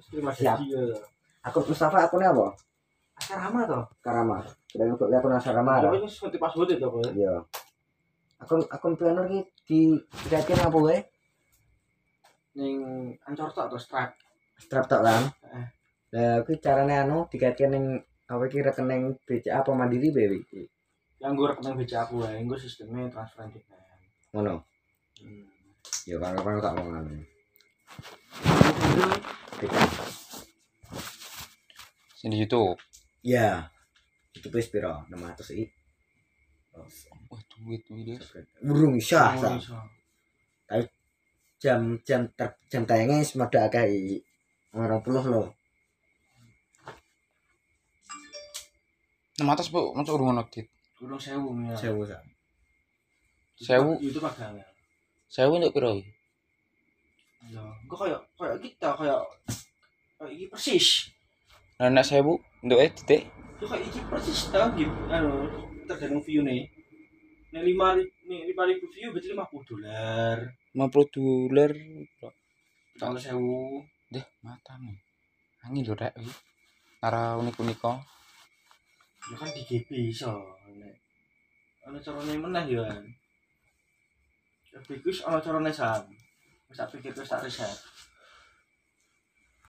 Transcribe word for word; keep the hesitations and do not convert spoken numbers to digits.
terima Siap. kasih. Akun Mustafa akunnya apa? Asrama toh. Karama. Kita ngikut akun Asrama. Apa ini seperti password itu kok. Iya. Akun akun planner ki di dikaitkan apa wae? Ning Ancor tok atau Stripe. Strap tok kan. Heeh. Lah kuwi carane anu dikaitkan ning apa iki rekening B C A apa Mandiri bae iki. Yang gue rekening B C A aku wae, gue sistemnya transfer dina. Ngono. Hmm. Ya kan tak ngono. Sing di YouTube. Ya. Itu wis piro? enam ratus i. Wah, duit duit. Burung syah. Oh, Tapi jam jam ter, jam tayangnya semoga agak i dua puluh loh. enam ratus Bu, masuk urung nodit. Urung sewu ya. Sewu sa. Sewu. Itu padahal. Sewu nduk piro iki? Ya, gue kayak kayak kita kayak kayak iki persis. Lah nek sewu nduk e titik. Itu kayak iki persis tau gitu. Anu tergantung view nih. Nih lima nih lima ribu view berarti lima puluh dolar. lima puluh dolar. Kalau sewu, Deh, matane. Angin lho rek iki. Ora unik-unika. ya kan di G P iso. Nek ana carane meneh ya. Bagus ana carane sam. Wis tak pikir wis tak riset.